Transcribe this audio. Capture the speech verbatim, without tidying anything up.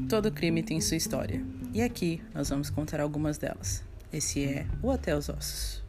Todo crime tem sua história, e aqui nós vamos contar algumas delas. Esse é o Até os Ossos.